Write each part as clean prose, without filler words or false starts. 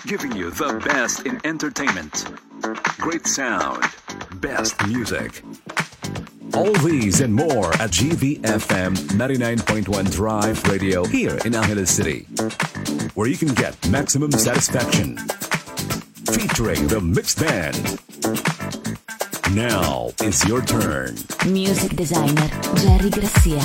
giving you the best in entertainment, great sound, best music. All these and more at GVFM 99.1 Drive Radio here in Angeles City, where you can get maximum satisfaction. Featuring the Mixed Band. Now it's your turn. Music designer Jerry Garcia.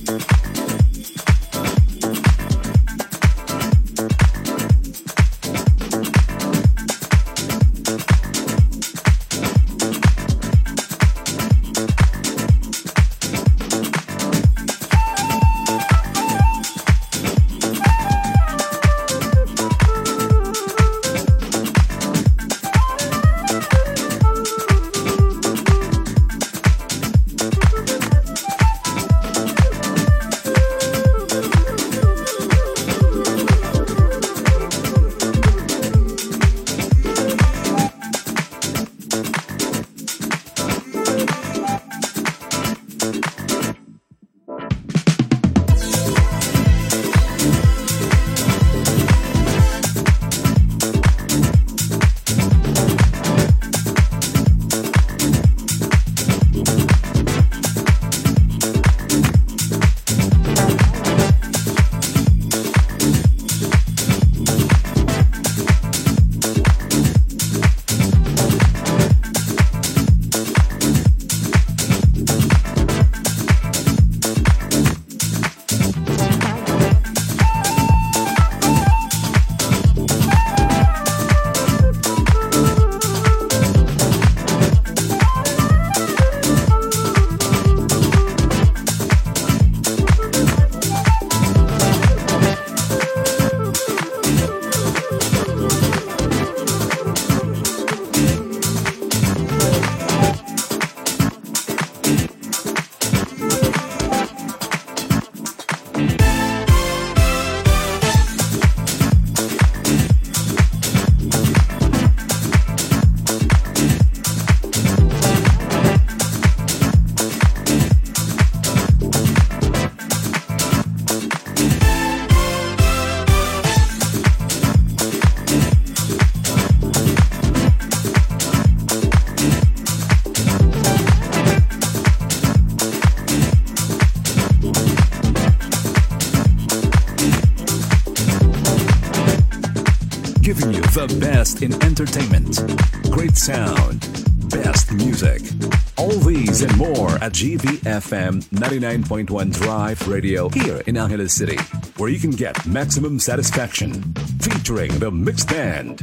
Giving you the best in entertainment, great sound, best music. All these and more at GVFM 99.1 Drive Radio here in Angeles City, where you can get maximum satisfaction. Featuring the Mixed Band.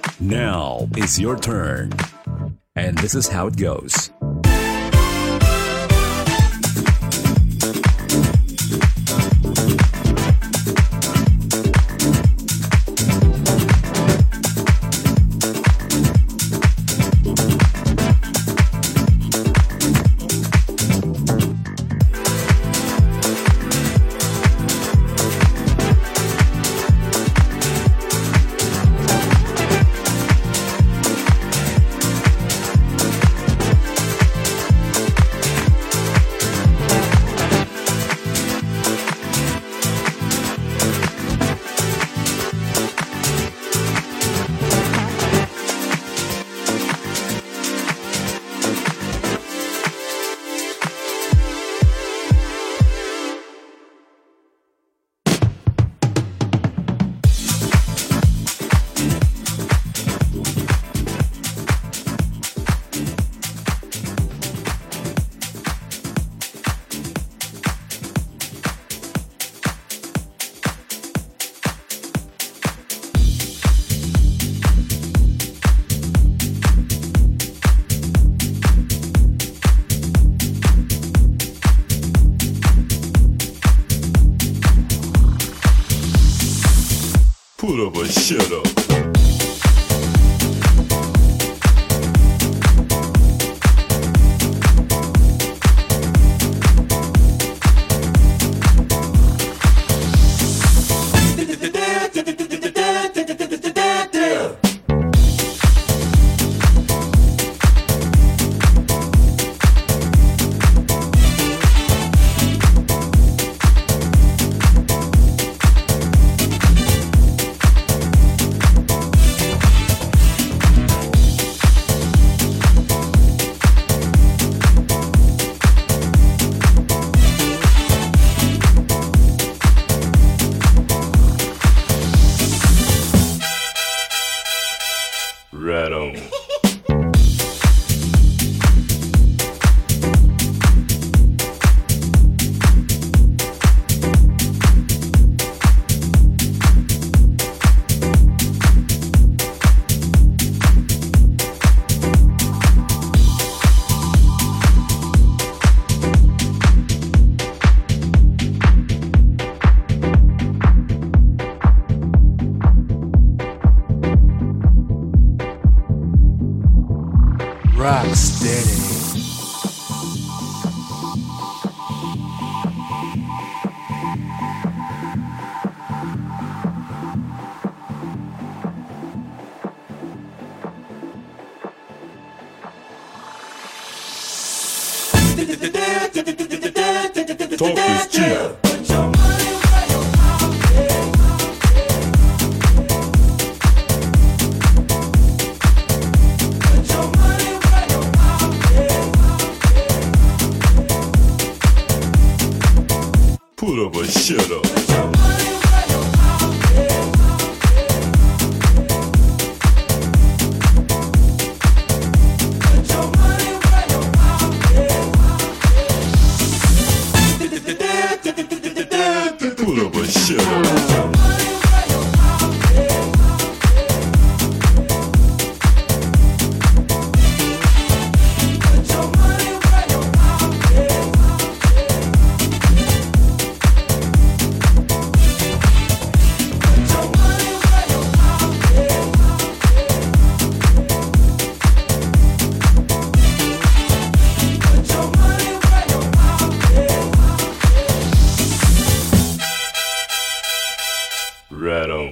Now it's your turn. And this is how it goes. Put up or shut up. steady. Talk is cheap. Put up a shut up. Put up a shut up. Right on.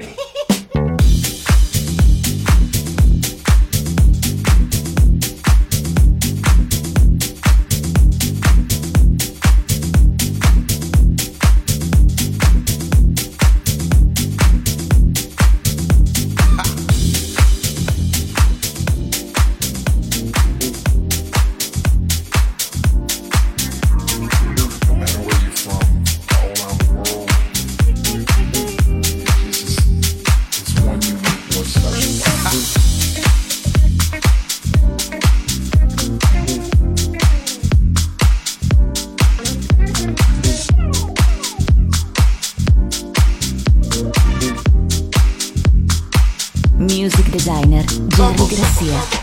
Music designer Jerry Grassia.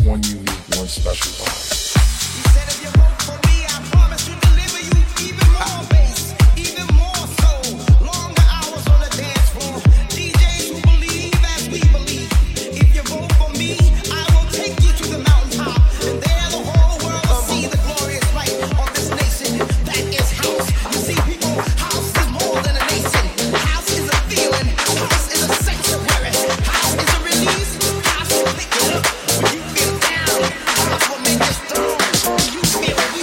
one unique, one special vibe. He said if you vote for me, I promise to deliver you even more bass, even more soul, longer hours on the dance floor. DJs who believe as we believe. If you vote for me, I will take you to the mountaintop, and there the whole world will see the glorious light of this nation. That is house. You see, people, house is more than a nation. House is a feeling. House is a sanctuary. House is a release. House will pick it up when you feel down. House will make you strong when you feel weak.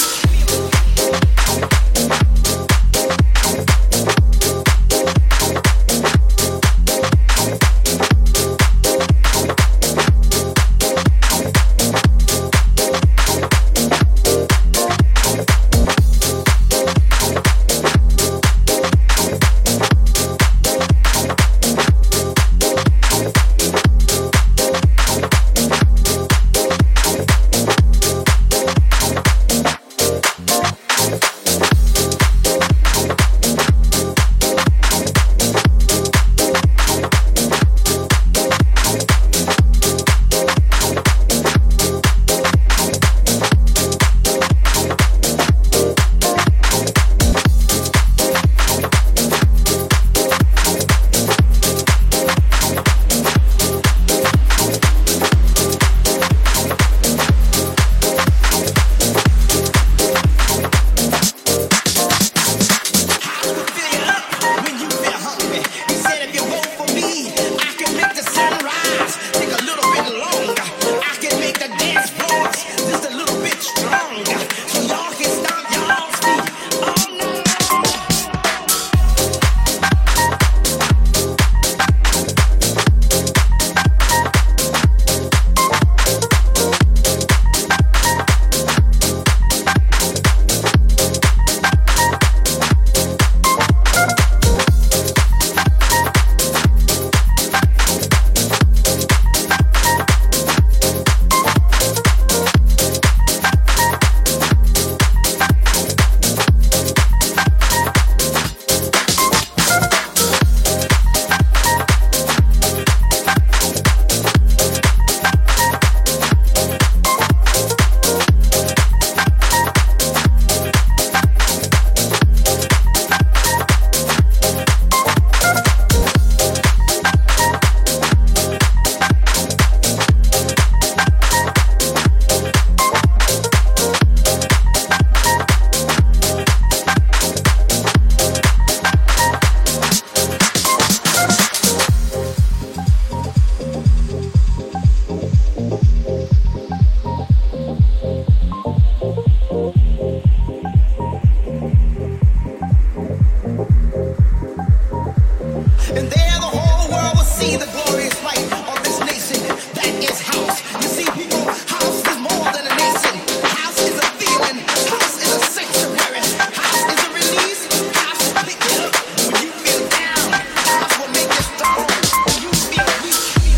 And there the whole world will see the glorious light of this nation. That is house. You see, people, house is more than a nation. House is a feeling. House is a sanctuary. House is a release. House will pick you up when you feel down. House will make you strong when you feel weak.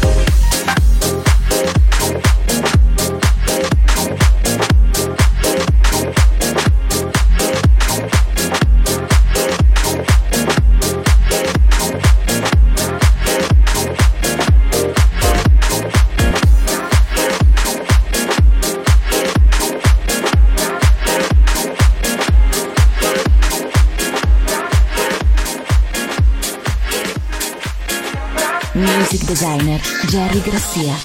Music designer Jerry Grassia.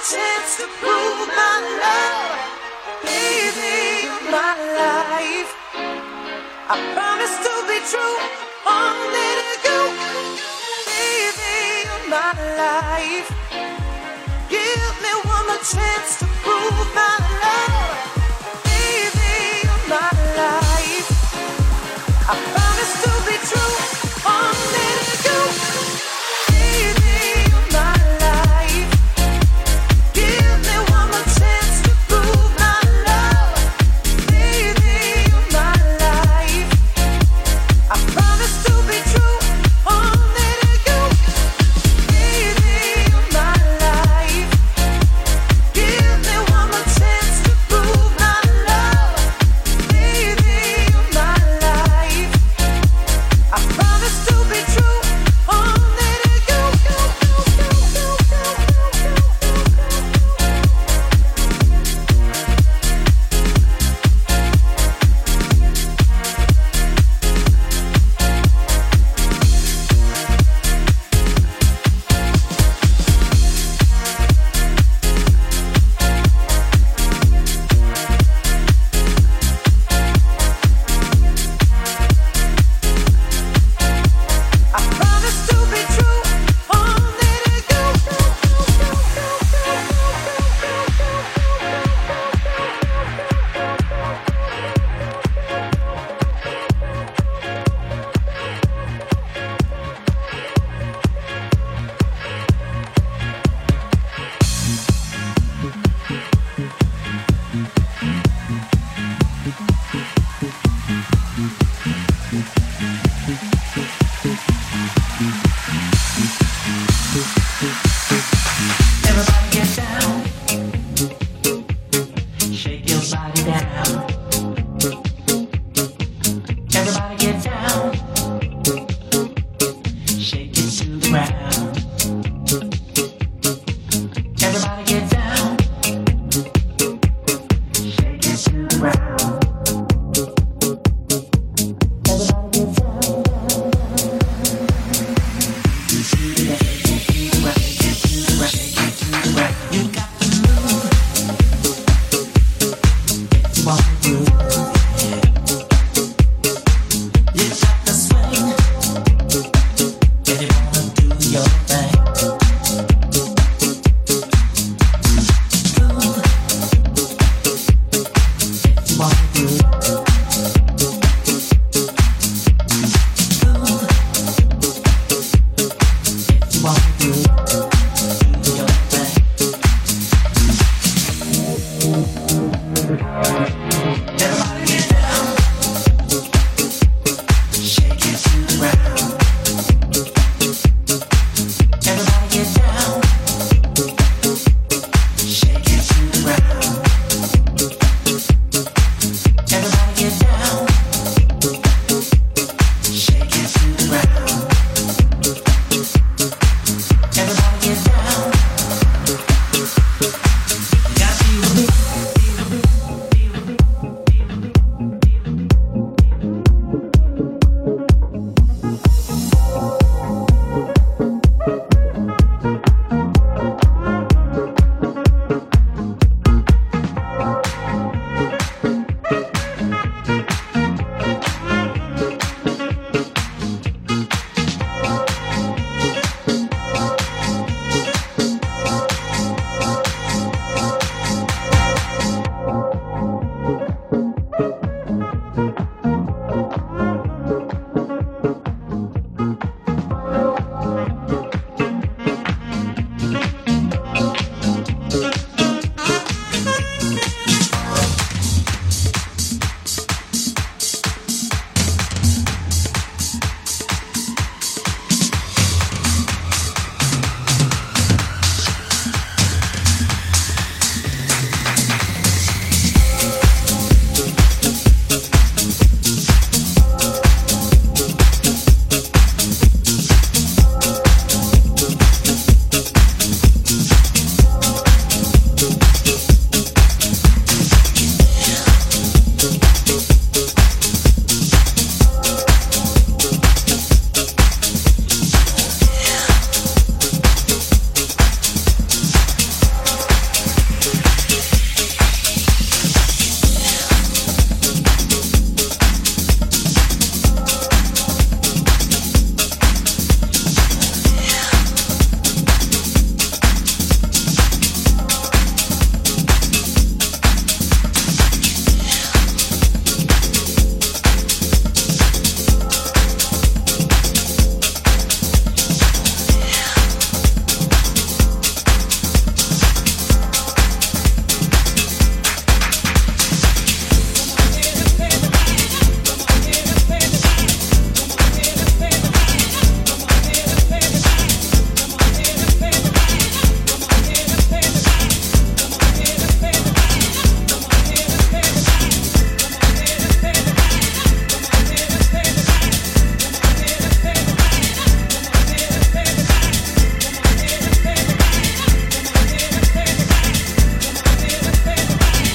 chance to prove my love. Baby, you're my life. I promise to be true, only to you. Baby, you're my life. Give me one more chance to prove my love. Baby, you're my life. I promise to be true, only to you. Baby, you're my life. Give me one more chance to prove my love. Baby, you're my life. I promise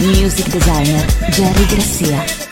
Music designer Jerry Grassia.